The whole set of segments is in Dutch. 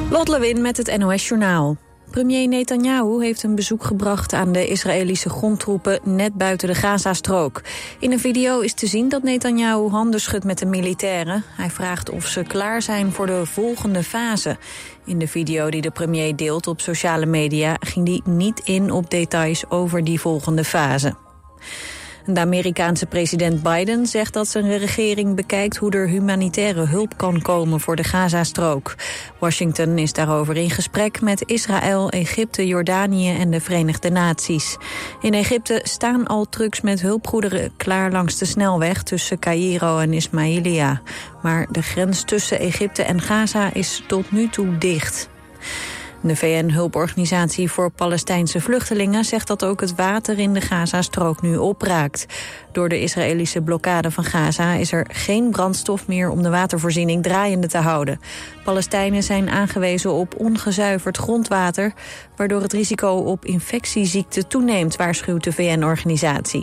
Lot Lewin met het NOS Journaal. Premier Netanyahu heeft een bezoek gebracht aan de Israëlische grondtroepen net buiten de Gazastrook. In een video is te zien dat Netanyahu handen schudt met de militairen. Hij vraagt of ze klaar zijn voor de volgende fase. In de video die de premier deelt op sociale media ging hij niet in op details over die volgende fase. De Amerikaanse president Biden zegt dat zijn regering bekijkt hoe er humanitaire hulp kan komen voor de Gazastrook. Washington is daarover in gesprek met Israël, Egypte, Jordanië en de Verenigde Naties. In Egypte staan al trucks met hulpgoederen klaar langs de snelweg tussen Caïro en Ismailia. Maar de grens tussen Egypte en Gaza is tot nu toe dicht. De VN-hulporganisatie voor Palestijnse vluchtelingen zegt dat ook het water in de Gazastrook nu opraakt. Door de Israëlische blokkade van Gaza is er geen brandstof meer om de watervoorziening draaiende te houden. Palestijnen zijn aangewezen op ongezuiverd grondwater, waardoor het risico op infectieziekten toeneemt, waarschuwt de VN-organisatie.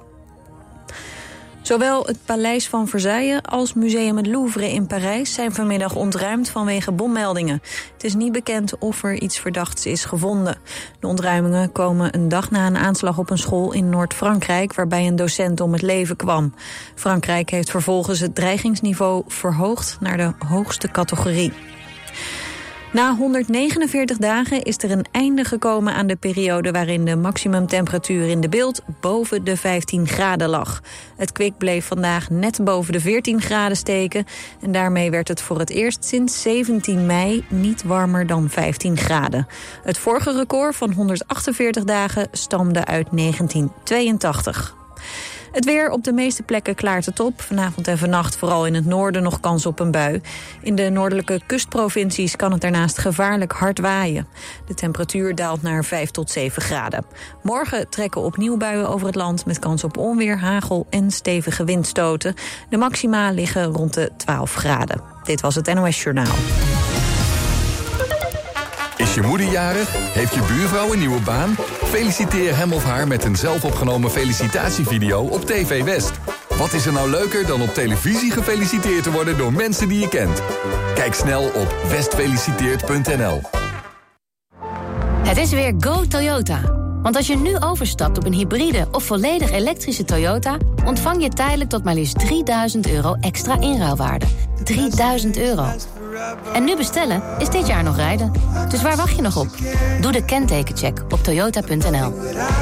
Zowel het Paleis van Versailles als Museum het Louvre in Parijs zijn vanmiddag ontruimd vanwege bommeldingen. Het is niet bekend of er iets verdachts is gevonden. De ontruimingen komen een dag na een aanslag op een school in Noord-Frankrijk, waarbij een docent om het leven kwam. Frankrijk heeft vervolgens het dreigingsniveau verhoogd naar de hoogste categorie. Na 149 dagen is er een einde gekomen aan de periode waarin de maximumtemperatuur in de Bilt boven de 15 graden lag. Het kwik bleef vandaag net boven de 14 graden steken en daarmee werd het voor het eerst sinds 17 mei niet warmer dan 15 graden. Het vorige record van 148 dagen stamde uit 1982. Het weer: op de meeste plekken klaart het op. Vanavond en vannacht vooral in het noorden nog kans op een bui. In de noordelijke kustprovincies kan het daarnaast gevaarlijk hard waaien. De temperatuur daalt naar 5 tot 7 graden. Morgen trekken opnieuw buien over het land met kans op onweer, hagel en stevige windstoten. De maxima liggen rond de 12 graden. Dit was het NOS Journaal. Is je moeder jarig? Heeft je buurvrouw een nieuwe baan? Feliciteer hem of haar met een zelfopgenomen felicitatievideo op TV West. Wat is er nou leuker dan op televisie gefeliciteerd te worden door mensen die je kent? Kijk snel op westfeliciteert.nl. Het is weer Go Toyota. Want als je nu overstapt op een hybride of volledig elektrische Toyota, ontvang je tijdelijk tot maar liefst €3.000 extra inruilwaarde. €3.000. En nu bestellen is dit jaar nog rijden. Dus waar wacht je nog op? Doe de kentekencheck op toyota.nl.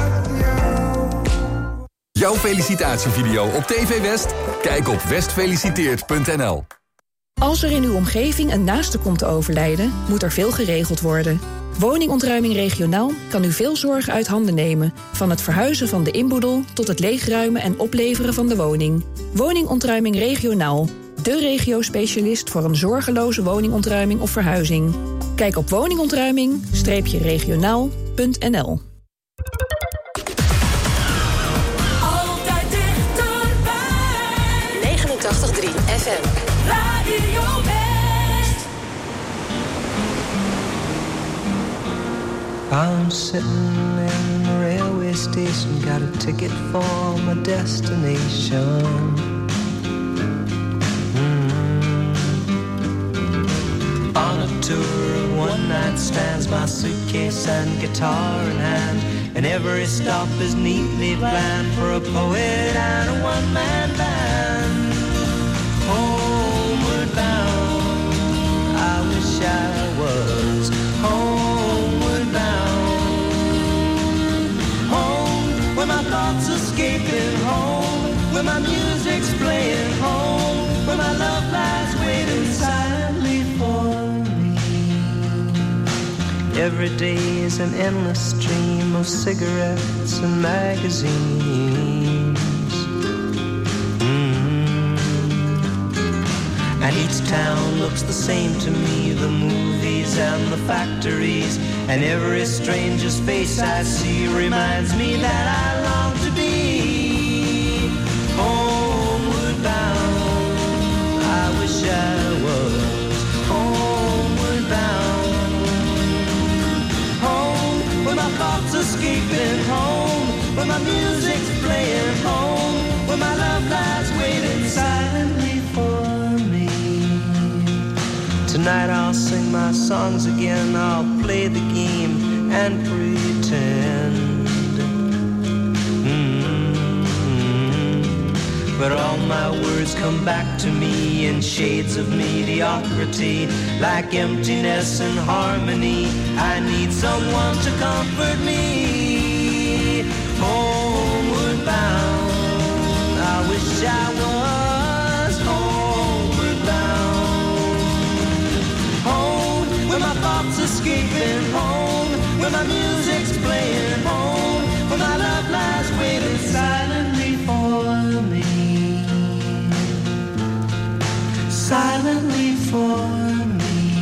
Jouw felicitatievideo op TV West? Kijk op westfeliciteert.nl. Als er in uw omgeving een naaste komt te overlijden, moet er veel geregeld worden. Woningontruiming regionaal kan u veel zorg uit handen nemen. Van het verhuizen van de inboedel tot het leegruimen en opleveren van de woning. Woningontruiming regionaal. De regio-specialist voor een zorgeloze woningontruiming of verhuizing. Kijk op woningontruiming-regionaal.nl. Altijd dichterbij. 89.3 FM. Radio West. I'm sitting in the railway station, got a ticket for my destination. On a tour of one-night stands, my suitcase and guitar in hand, and every stop is neatly planned for a poet and a one-man band. Homeward bound, I wish I was homeward bound. Home, where my thoughts escaping home, where my music's playing home, where my love lies waiting silently for me. Every day is an endless stream of cigarettes and magazines. And each town looks the same to me, the movies and the factories, and every stranger's face I see reminds me that I long to be homeward bound. I wish I was homeward bound. Home, where my thoughts escaping home, where my music's playing home, where my love lies waiting silently for me. Tonight I'll sing my songs again, I'll play the game and pretend. But all my words come back to me in shades of mediocrity, like emptiness and harmony. I need someone to comfort me. Homeward bound, I wish I was homeward bound. Home, where my thoughts escaping. Home, where my music's playing. Home, where my love lies waiting silently for me. Silently for me.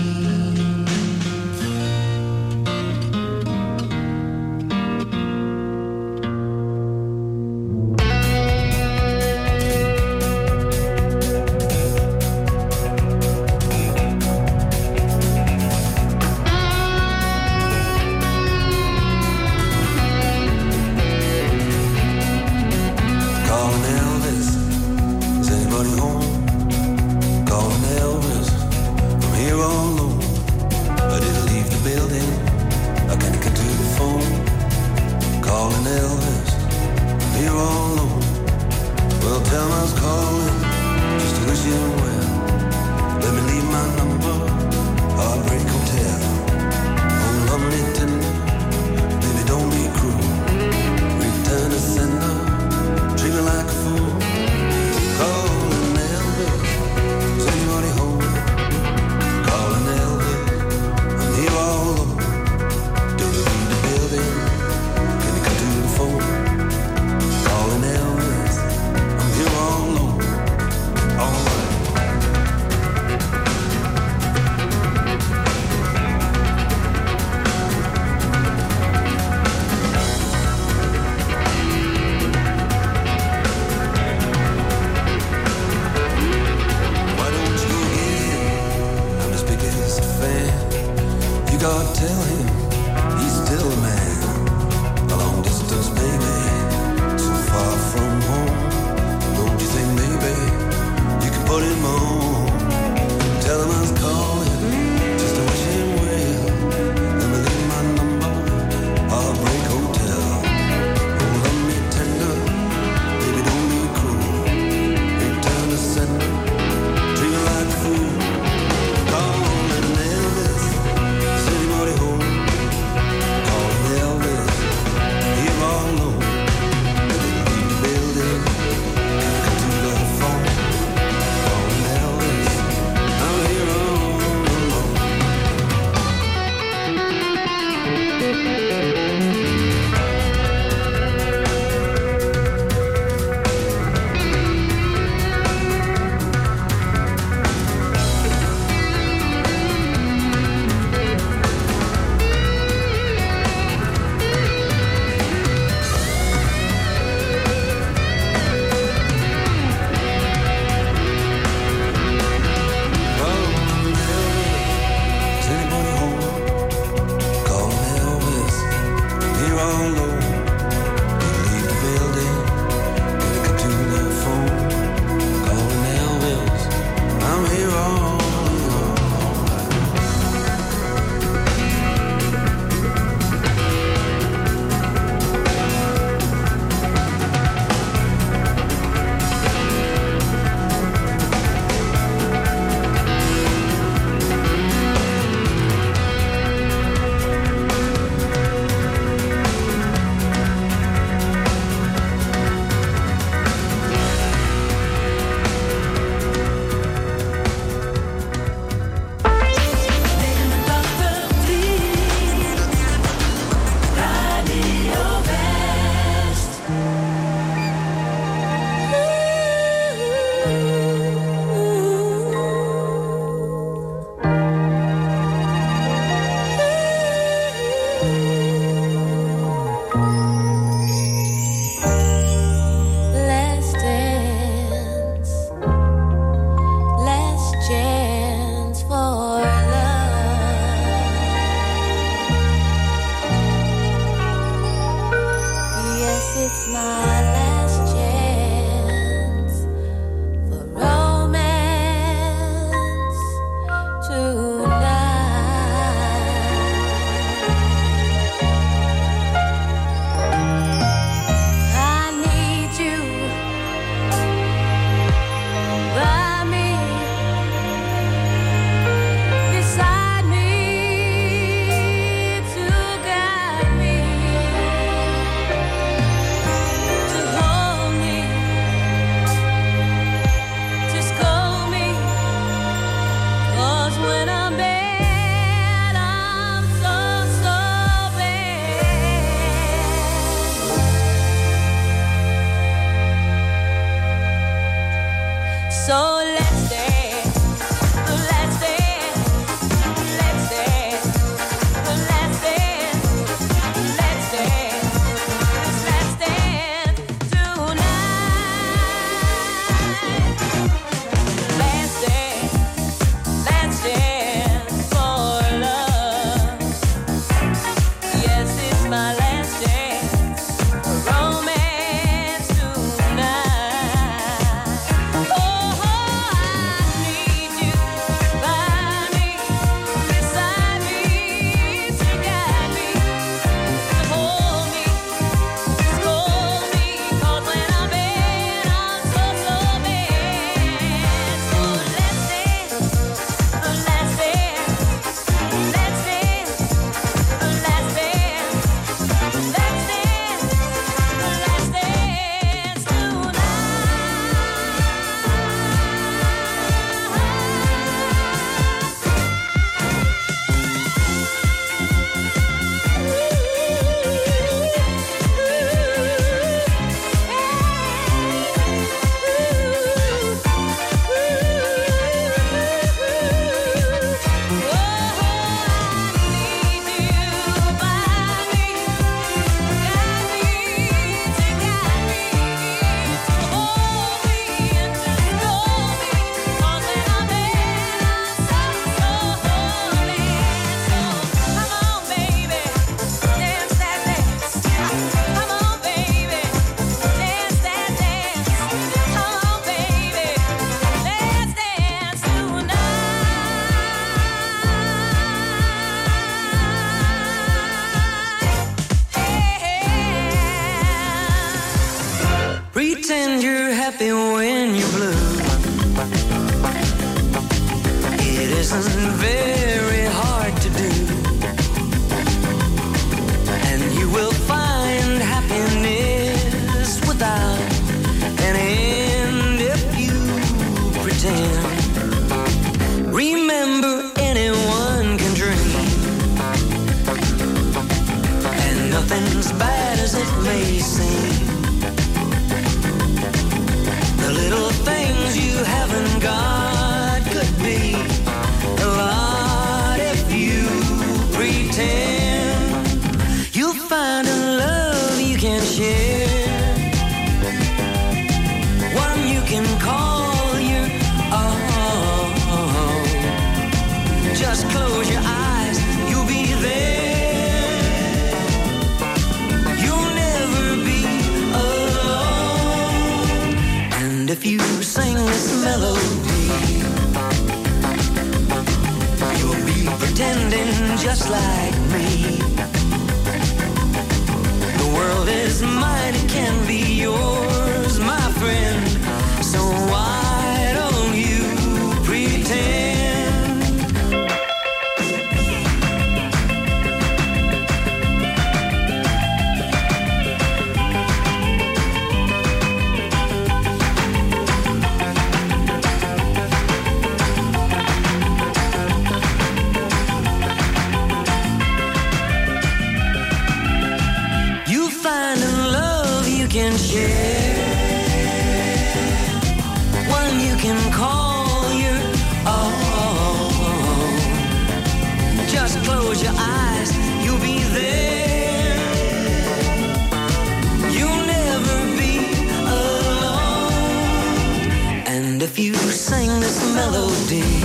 Calling Elvis, is anybody home? Calling Elvis, I'm here all alone. I didn't leave the building, I can't get to the phone. Calling Elvis, I'm here all alone. Well, tell him I was calling, just to wish him well. Let me leave my number, Heartbreak Hotel. Oh, lovely tender, baby, don't be cruel. Return to sender, treat me like a fool. Calling Elvis, is anybody home? Calling Elvis, I'm here all alone. Don't you leave the building, can you come to the phone? Calling Elvis, I'm here all alone. All right. Why don't you go get him? I'm his biggest fan. You gotta tell him he's still a man. A long distance, baby, so far from home. Don't you think maybe you can put him on? Tell him I was calling just to wish him well. Let me leave my number, Heartbreak Hotel. Oh, love me tender, baby, don't be cruel. Return to sender, treat me like a fool. Calling Elvis, is anybody home? Calling Elvis, here all alone. Leave the building, can't come to the phone. Calling Elvis. happy when you're blue. It isn't very hard to do, and you will find happiness without an end if you pretend. Remember, anyone can dream, and nothing's bad as it may seem. The little things you haven't got could be a lot if you pretend. You'll find a love you can share, one you can call your own. Just close your eyes, you'll be there. You'll never be alone. And if you sing this melody, you'll be pretending just like me. The world is mine, it can be yours, my friend. So why don't you pretend? You find a love you can share, one you can call your own. Just close your eyes, you'll be there. You'll never be alone. And if you sing this melody,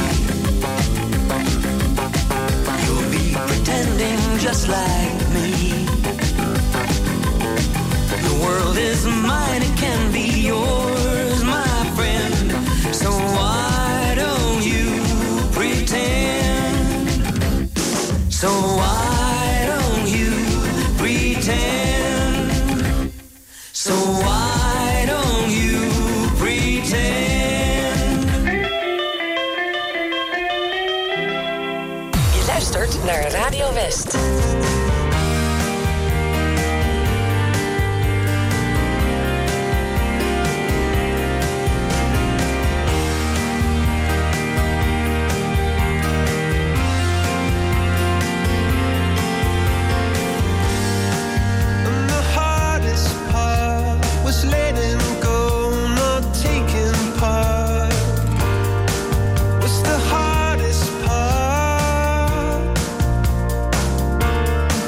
you'll be pretending just like me. The world is mine, it can be yours, my friend. So why don't you pretend? So why don't you pretend? So why don't you pretend? Je luistert naar Radio West. What's the hardest part?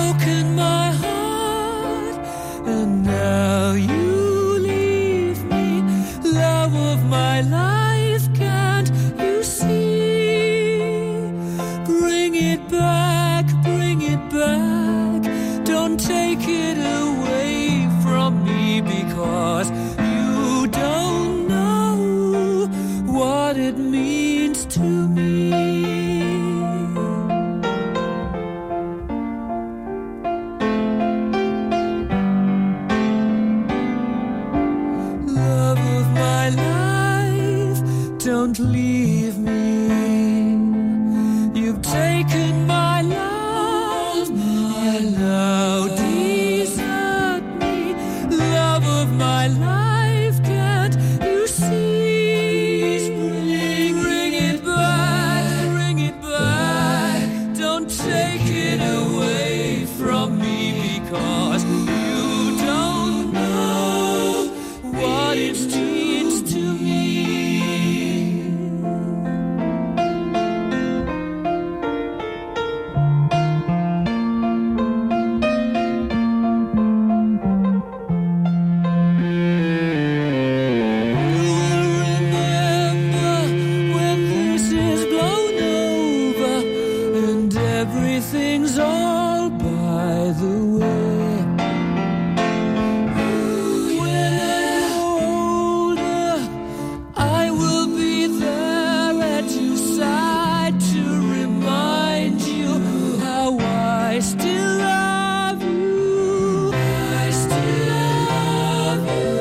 broken my heart, and now you leave me. Love of my life, can't you see? Bring it back, don't take it away from me, because you don't know what it means to me. Love of my life, don't leave me. You've taken my love, now desert me. Love of my life, can't you see? Bring it back, don't take it away from me, because you don't know what it means to me. Everything's all by the way. When I'm older, I will be there at your side to remind you how I still love you. I still love you.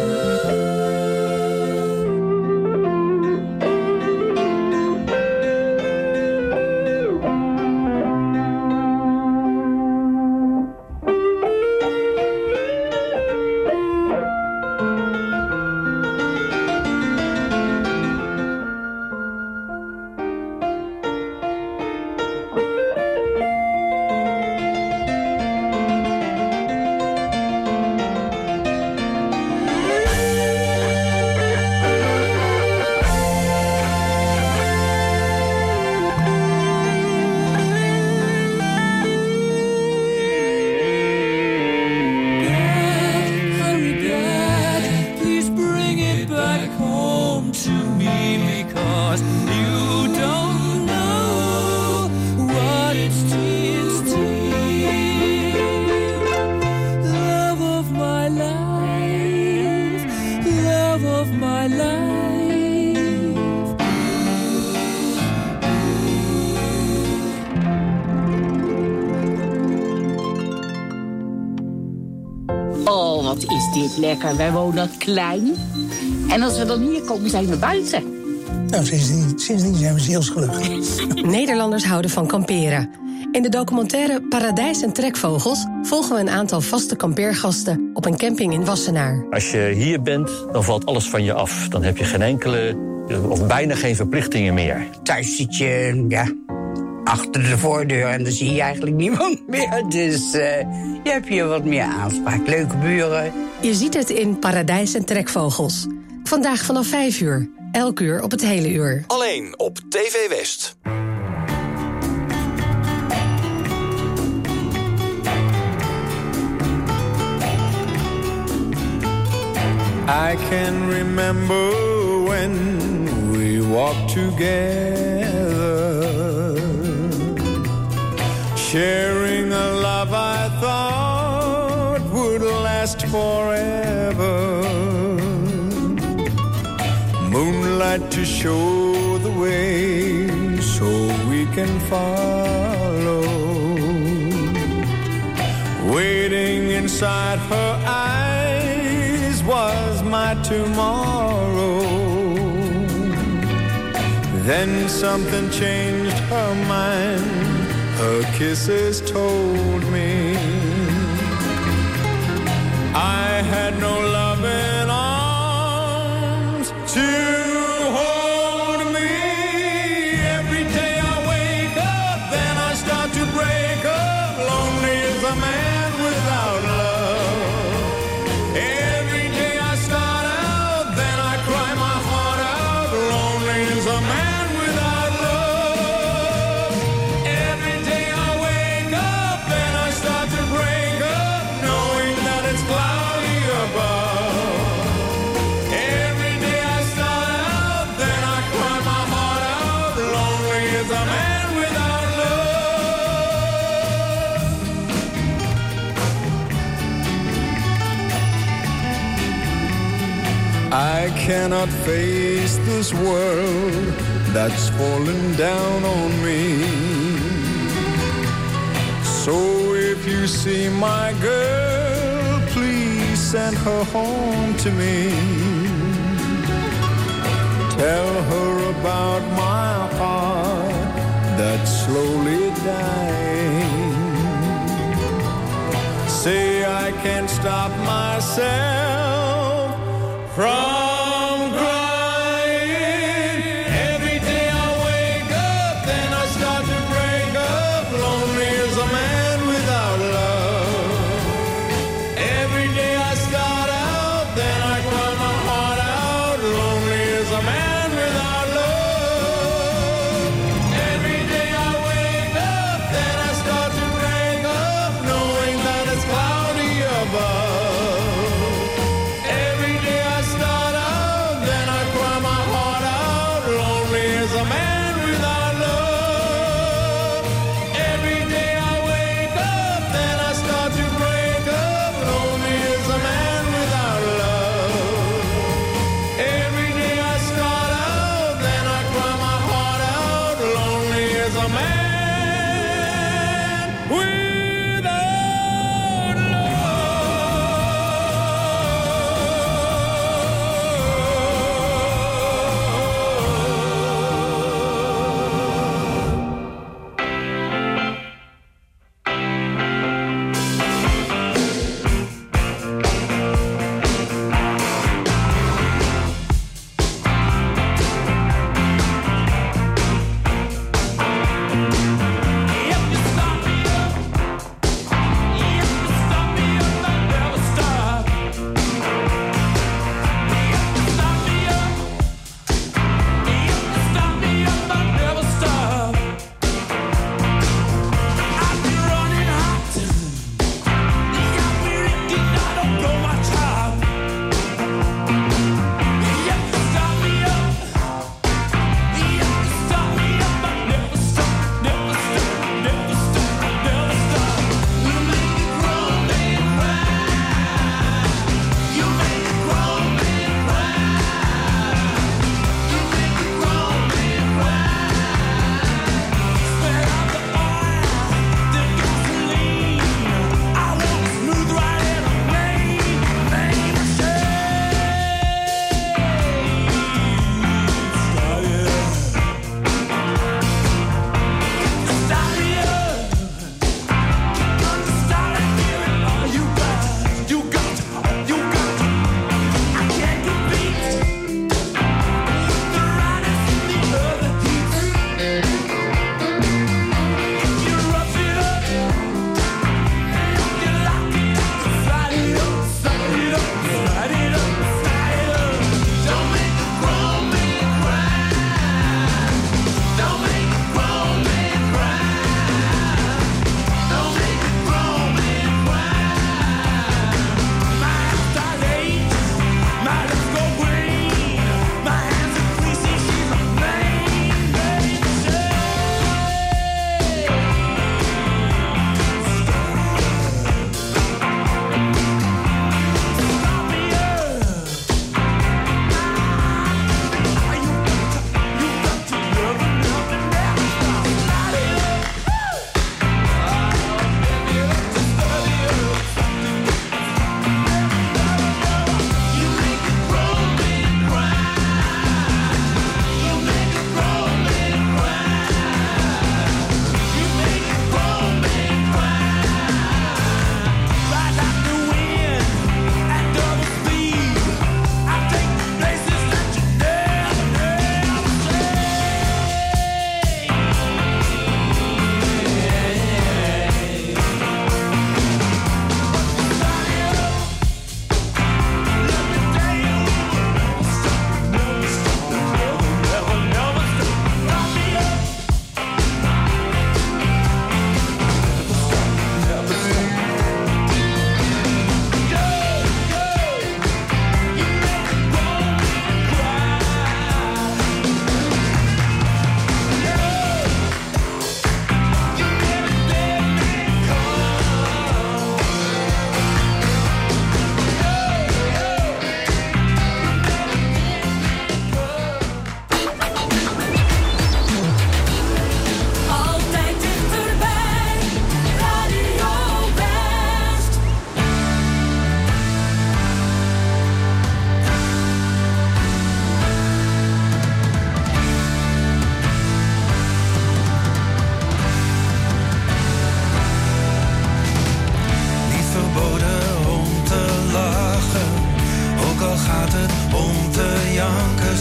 Oh, wat is dit lekker. Wij wonen klein. En als we dan hier komen, zijn we buiten. Nou, sindsdien zijn we zielsgelukkig. Nederlanders houden van kamperen. In de documentaire Paradijs en Trekvogels volgen we een aantal vaste kampeergasten op een camping in Wassenaar. Als je hier bent, dan valt alles van je af. Dan heb je geen enkele, of bijna geen verplichtingen meer. Thuis zit je, achter de voordeur en dan zie je eigenlijk niemand meer. Dus je hebt hier wat meer aanspraak. Leuke buren. Je ziet het in Paradijs en Trekvogels. Vandaag vanaf 5 uur. Elk uur op het hele uur. Alleen op TV West. I can remember when we walked together, sharing a love I thought would last forever. Moonlight to show the way so we can follow. Waiting inside her eyes was my tomorrow. Then something changed her mind. Her kisses told me I had no loving arms to hold me. Every day I wake up, then I start to break up. Lonely as a man without love. Every day I start out, then I cry my heart out. Lonely as a man without love. Every day I wake up, then I start to break I cannot face this world that's fallen down on me. So if you see my girl, please send her home to me. Tell her about my heart that's slowly dying. Say I can't stop myself from crying. Every day I wake up, then I start to break up. Lonely as a man without love. Every day I start out, then I cry my heart out. Lonely as a man without love. Every day I wake up, then I start to break up, knowing that it's cloudy above. Every day I start out.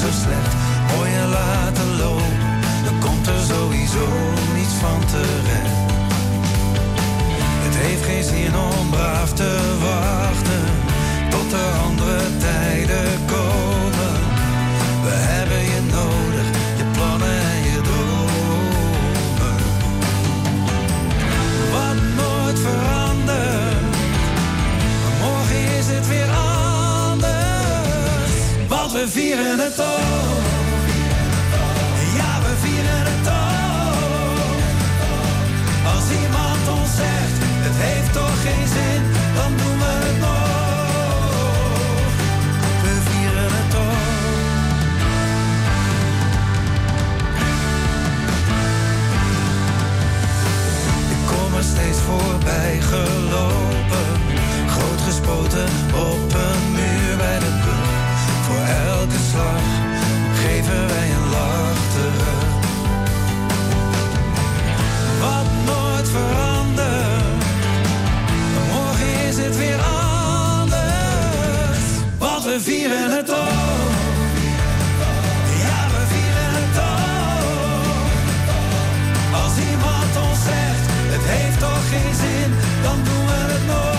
zo slecht. Mooi en laten lopen, dan komt er sowieso niets van terecht. Het heeft geen zin om braaf te wachten tot er andere tijden komen. We hebben je nodig, je plannen en je dromen. Wat nooit verandert, maar morgen is het weer anders. Want we vieren het ook. Ja, we vieren het ook. Als iemand ons zegt, het heeft toch geen zin, dan doen we het nog. We vieren het toch. Ik kom er steeds voorbij gelopen, groot gespoten op een muur bij de brug. Voor elke slag geven wij een lach terug. Wat nooit verandert, morgen is het weer anders. Want we vieren het ook. Ja, we vieren het ook. Als iemand ons zegt, het heeft toch geen zin, dan doen we het nog.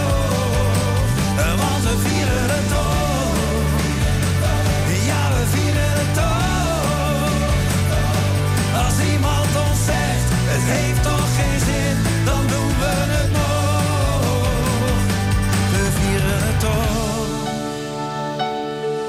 Want we vieren het ook. Ja, we vieren het ook. Als iemand ons zegt, het heeft toch geen zin, dan doen we het nog. We vieren het toch.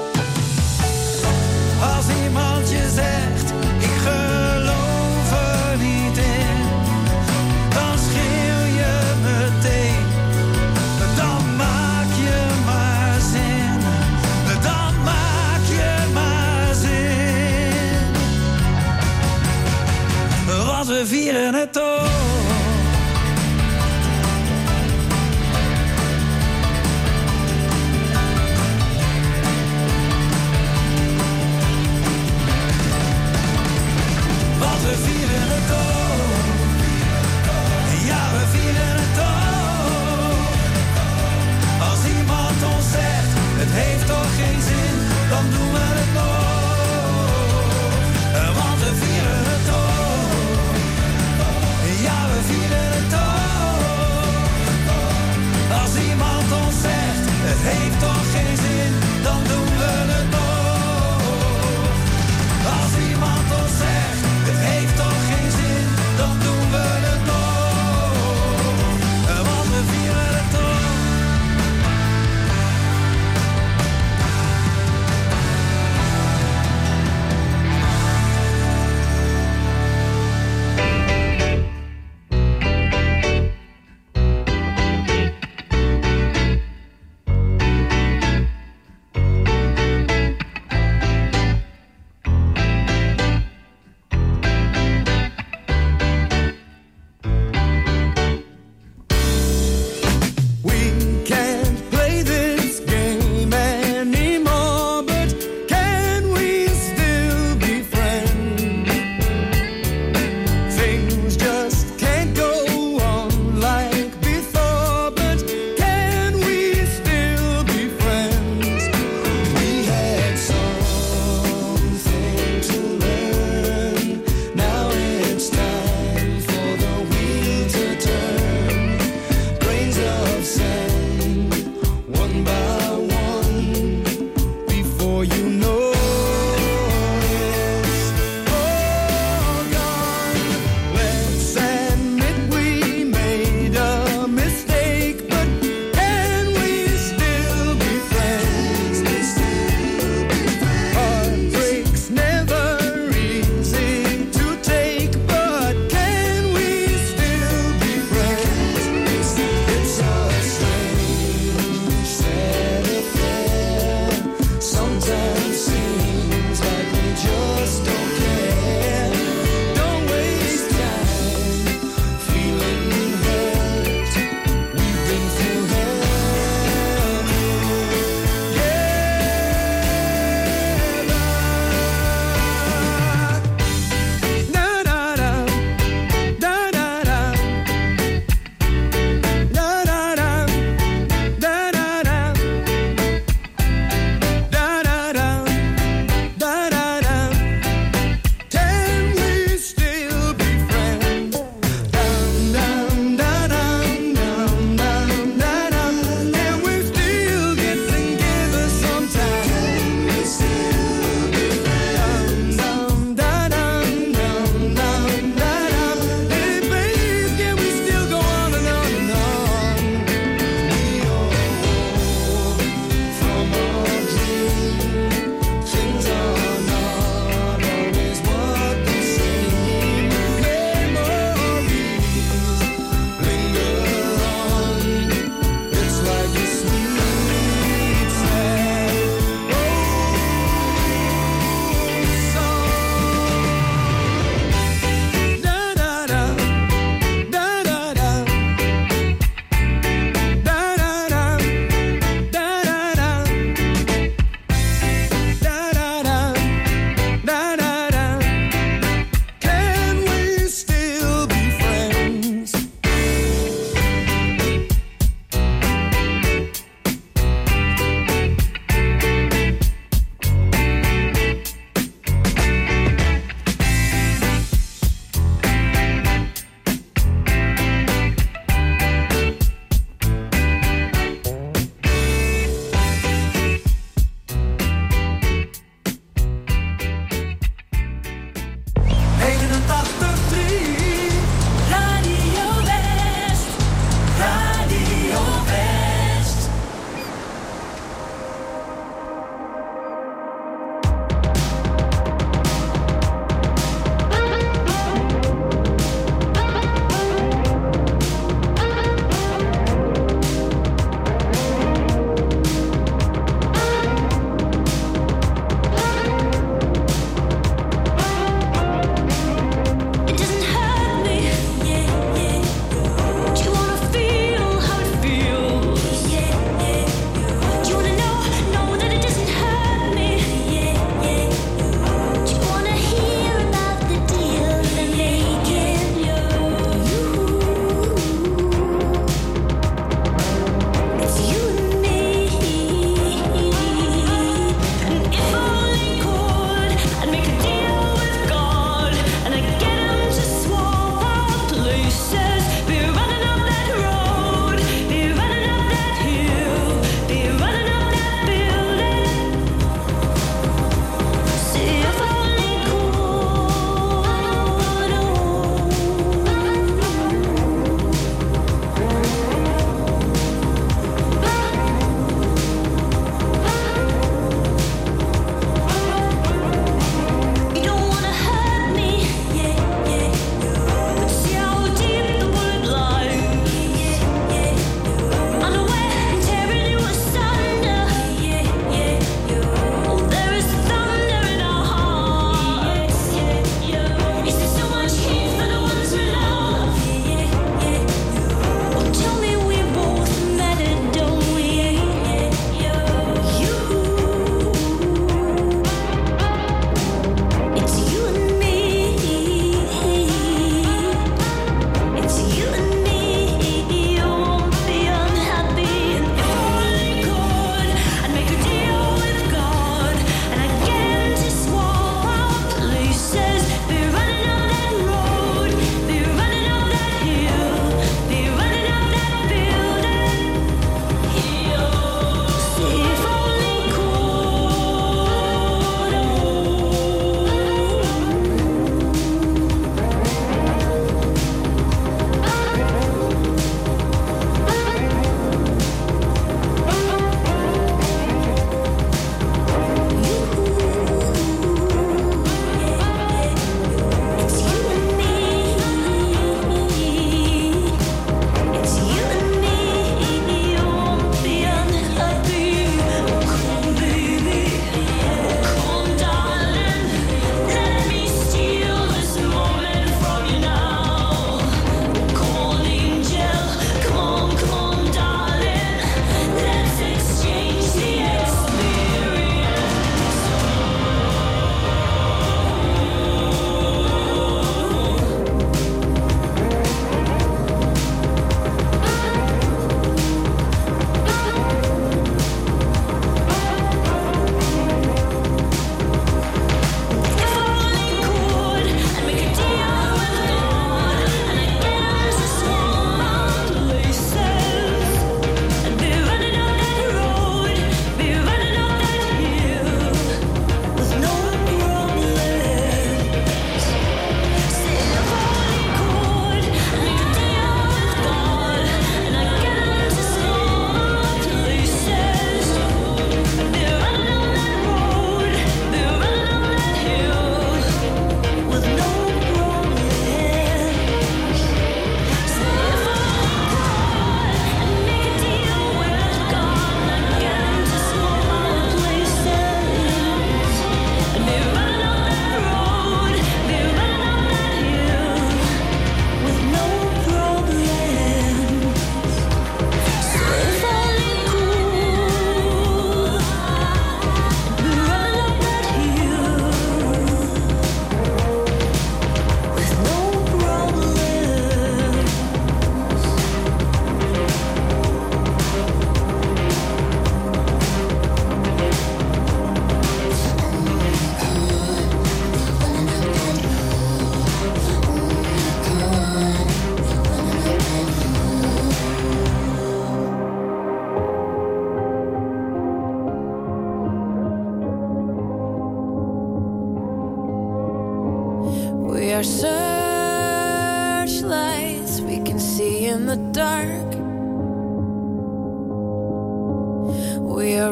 are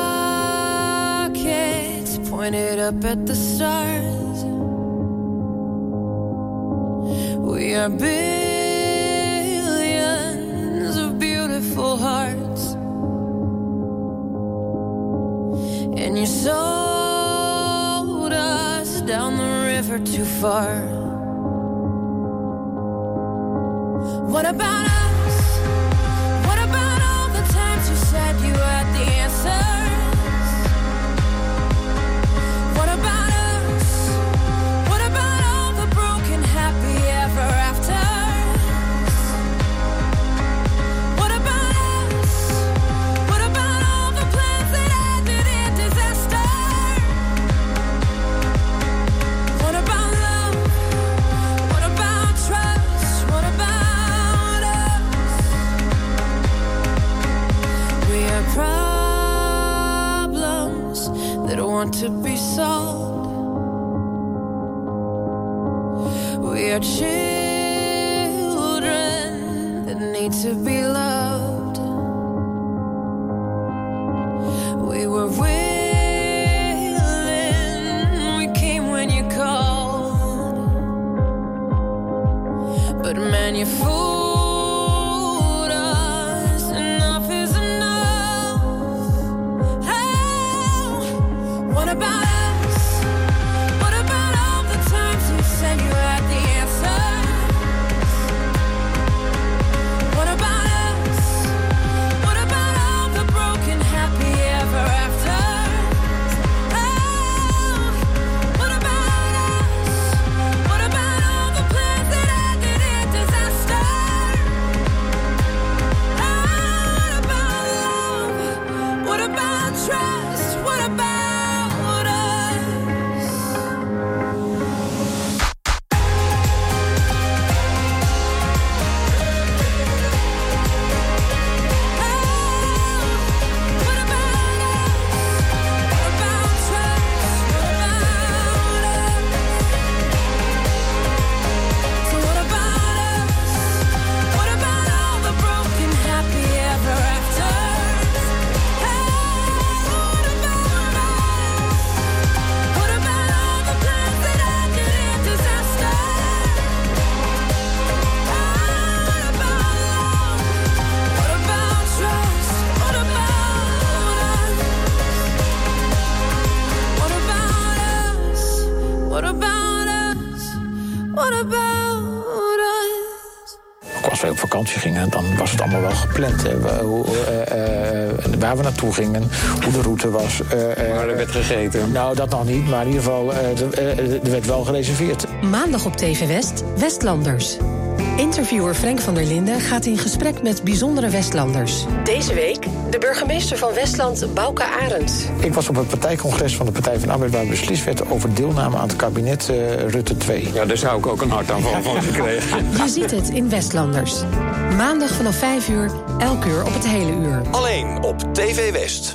rockets pointed up at the stars. We are billions of beautiful hearts. And you sold us down the river too far. What about us? What about all the times you said you had the answers? What about us? What about all the broken happy ever afters? What about us? What about all the plans that ended in disaster? What about love? What about trust? What about us? We are problems that want to be solved. We are children that need to be loved. We were willing, we came when you called. But man, you fooled us. Enough is enough. Oh, what about us? What about all the times you said you had the answers? What about us? What about all the broken happy ever afters? Oh, what about us? What about all the plans that ended in disaster? Oh, what about love? What about trust? What about us? Als wij op vakantie gingen, dan was het allemaal wel gepland. Hè. Waar we naartoe gingen, hoe de route was. Waar er werd gegeten. Nou, dat nog niet, maar in ieder geval, er werd wel gereserveerd. Maandag op TV West, Westlanders. Interviewer Frank van der Linden gaat in gesprek met bijzondere Westlanders. Deze week de burgemeester van Westland, Bouke Arends. Ik was op het partijcongres van de Partij van de Arbeid waar beslist werd over deelname aan het kabinet Rutte 2. Ja, daar zou ik ook een hartaanval van gekregen. Je ziet het in Westlanders. Maandag vanaf 5 uur, elk uur op het hele uur. Alleen op TV West.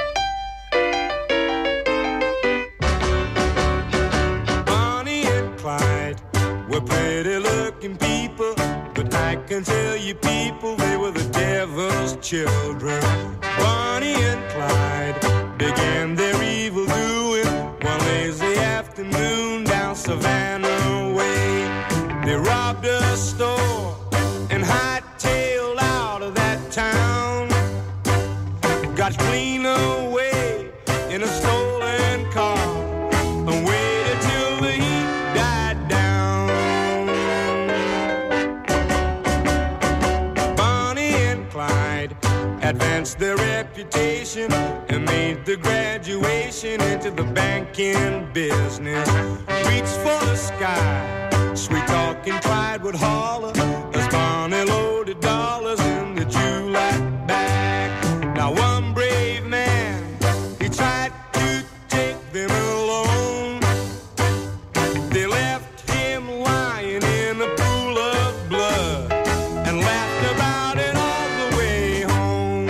Bonnie and Clyde were pretty looking people, but I can tell you people, they were the devil's children. Bonnie and Clyde began their evil doing one lazy afternoon down Savannah Way. They robbed a store and hightailed out of that town. Got clean away in a stolen car and waited till the heat died down. Bonnie and Clyde advanced their reputation and made the graduation into the banking business. Reached for the sky, sweet talking Clyde would holler as Bonnie loaded dollars in the July bag. Now one brave man, he tried to take them alone. They left him lying in a pool of blood and laughed about it all the way home.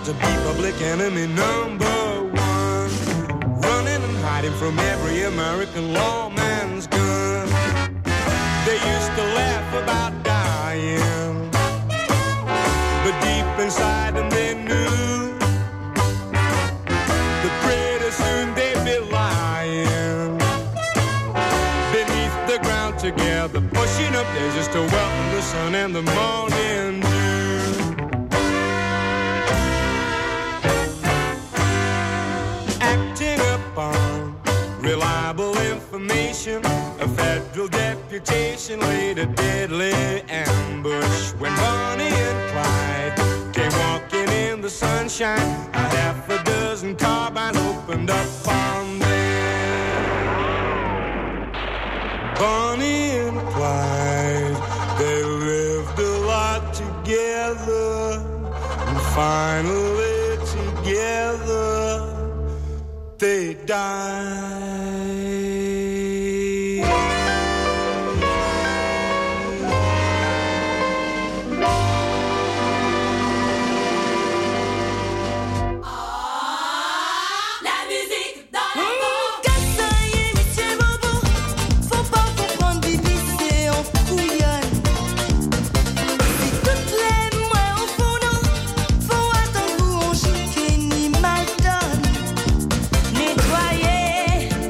got to be public enemy number one. Running and hiding from every American lawman's gun. They used to laugh about dying, but deep inside them they knew that pretty soon they'd be lying beneath the ground together, pushing up there just to welcome the sun and the morning dew. Acting upon reliable information, a federal deputation laid a deadly ambush when Bonnie and Clyde came walking in the sunshine. A half a dozen carbines opened up on them. Bonnie and Clyde, they lived a lot together, and finally together they died. Nettoyer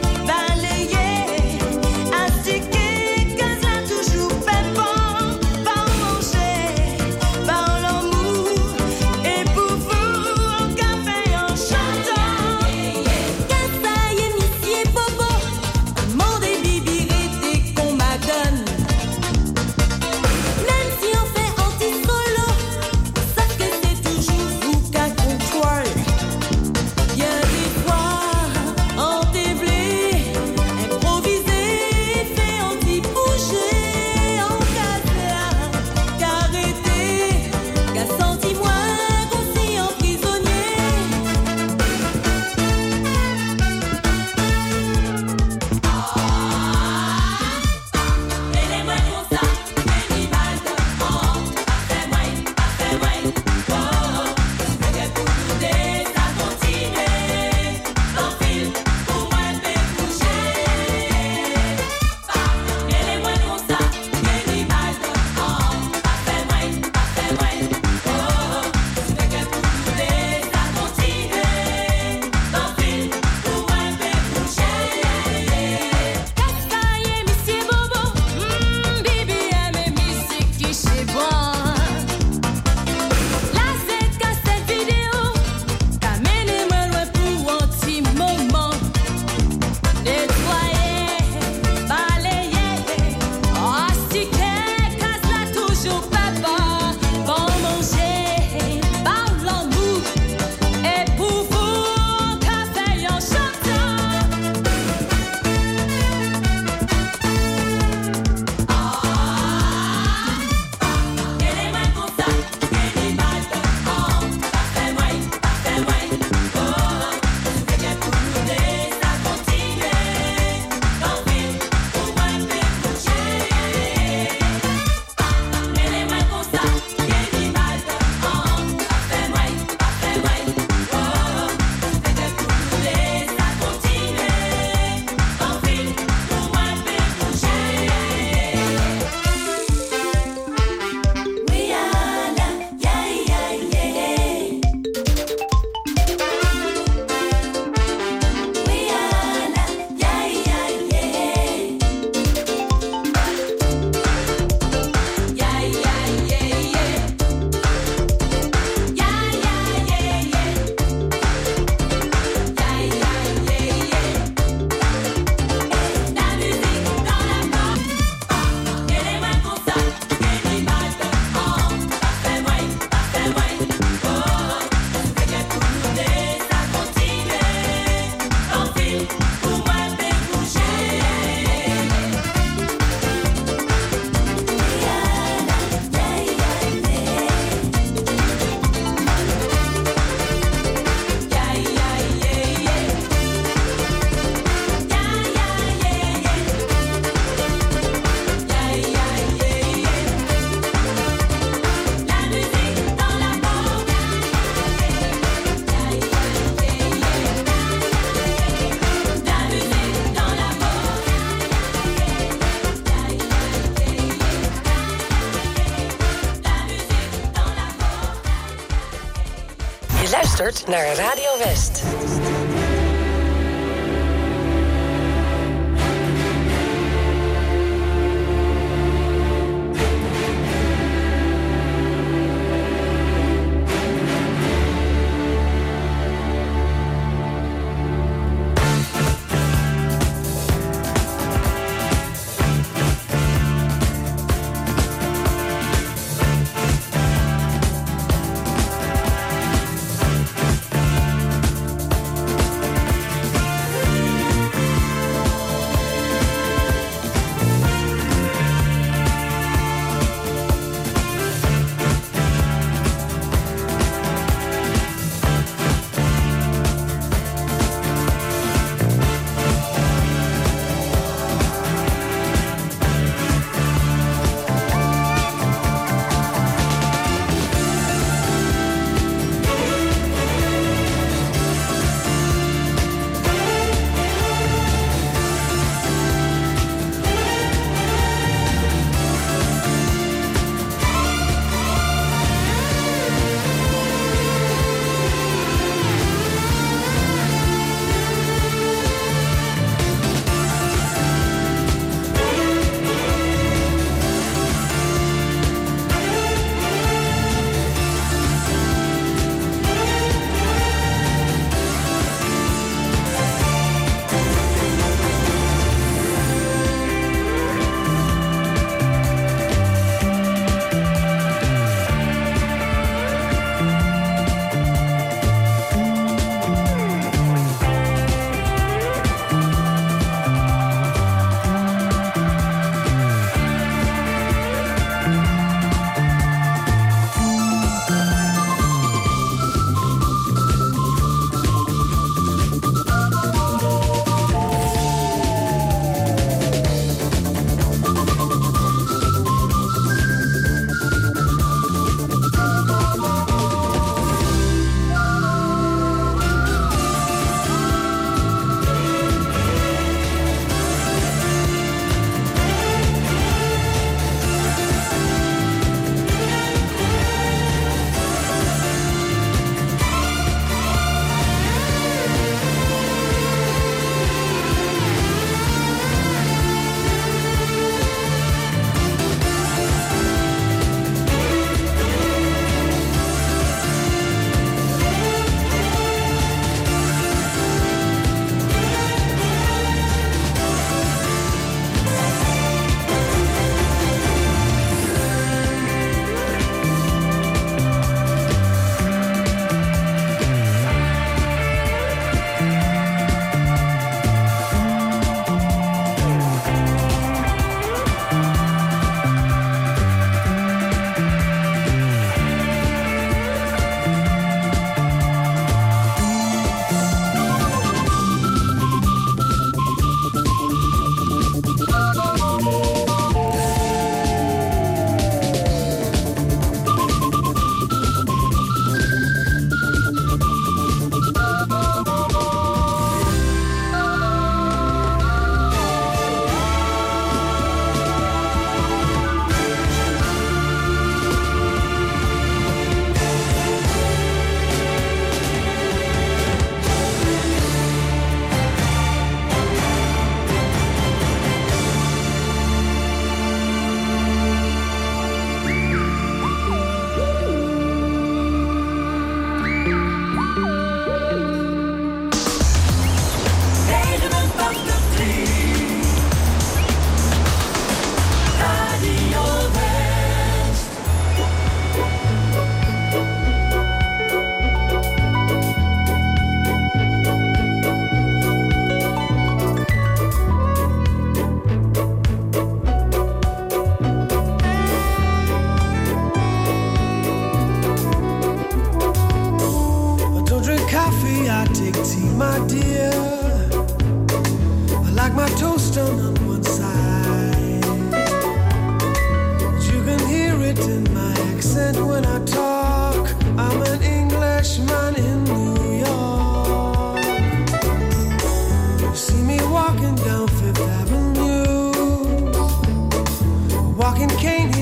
luistert naar Radio West.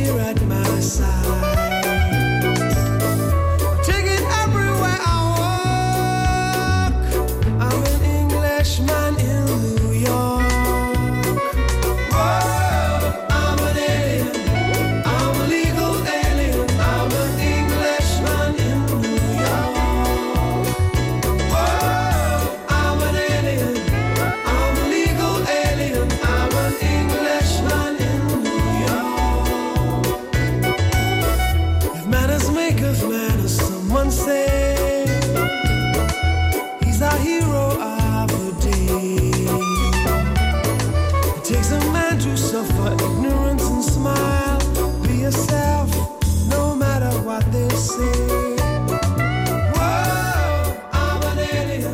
Take it everywhere I suffer ignorance and smile. Be yourself, no matter what they say. Whoa, I'm an alien.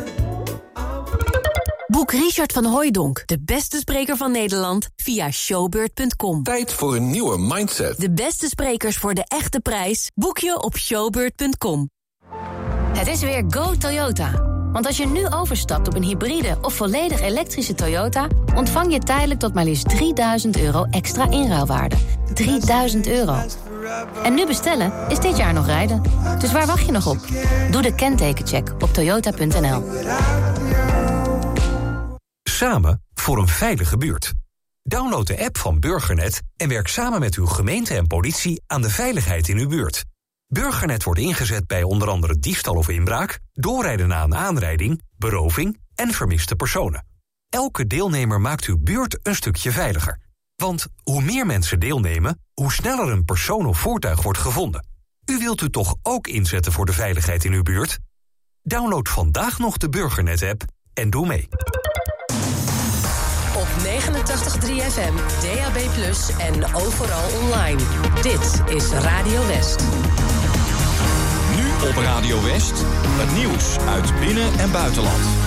Boek Richard van Hooijdonk, de beste spreker van Nederland, via showbird.com. Tijd voor een nieuwe mindset. De beste sprekers voor de echte prijs boek je op showbird.com. Het is weer Go Toyota. Want als je nu overstapt op een hybride of volledig elektrische Toyota, ontvang je tijdelijk tot maar liefst €3.000 extra inruilwaarde. €3.000. En nu bestellen is dit jaar nog rijden. Dus waar wacht je nog op? Doe de kentekencheck op toyota.nl. Samen voor een veilige buurt. Download de app van Burgernet en werk samen met uw gemeente en politie aan de veiligheid in uw buurt. Burgernet wordt ingezet bij onder andere diefstal of inbraak, doorrijden na een aanrijding, beroving en vermiste personen. Elke deelnemer maakt uw buurt een stukje veiliger. Want hoe meer mensen deelnemen, hoe sneller een persoon of voertuig wordt gevonden. U wilt u toch ook inzetten voor de veiligheid in uw buurt? Download vandaag nog de Burgernet-app en doe mee. Op 89.3 FM, DAB+ en overal online. Dit is Radio West. Nu op Radio West, het nieuws uit binnen- en buitenland.